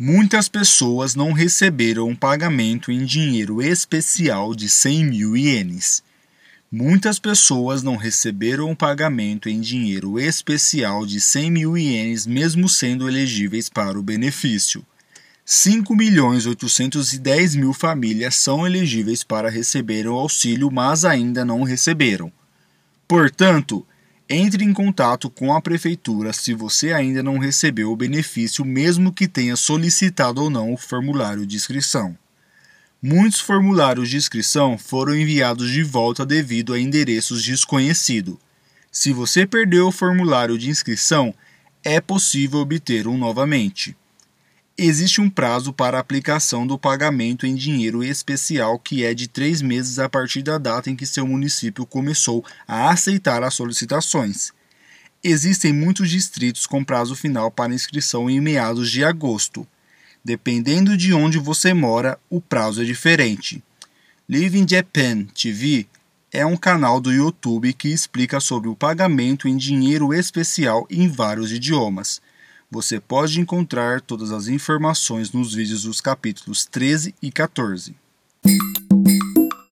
Muitas pessoas não receberam um pagamento em dinheiro especial de 100.000 ienes. Muitas pessoas não receberam um pagamento em dinheiro especial de 100.000 ienes mesmo sendo elegíveis para o benefício. 5.810.000 famílias são elegíveis para receber o auxílio, mas ainda não receberam. Portanto, entre em contato com a prefeitura se você ainda não recebeu o benefício, mesmo que tenha solicitado ou não o formulário de inscrição. Muitos formulários de inscrição foram enviados de volta devido a endereços desconhecidos. Se você perdeu o formulário de inscrição, é possível obter um novamente. Existe um prazo para a aplicação do pagamento em dinheiro especial que é de 3 meses a partir da data em que seu município começou a aceitar as solicitações. Existem muitos distritos com prazo final para inscrição em meados de agosto. Dependendo de onde você mora, o prazo é diferente. Live in Japan TV é um canal do YouTube que explica sobre o pagamento em dinheiro especial em vários idiomas. Você pode encontrar todas as informações nos vídeos dos capítulos 13 e 14.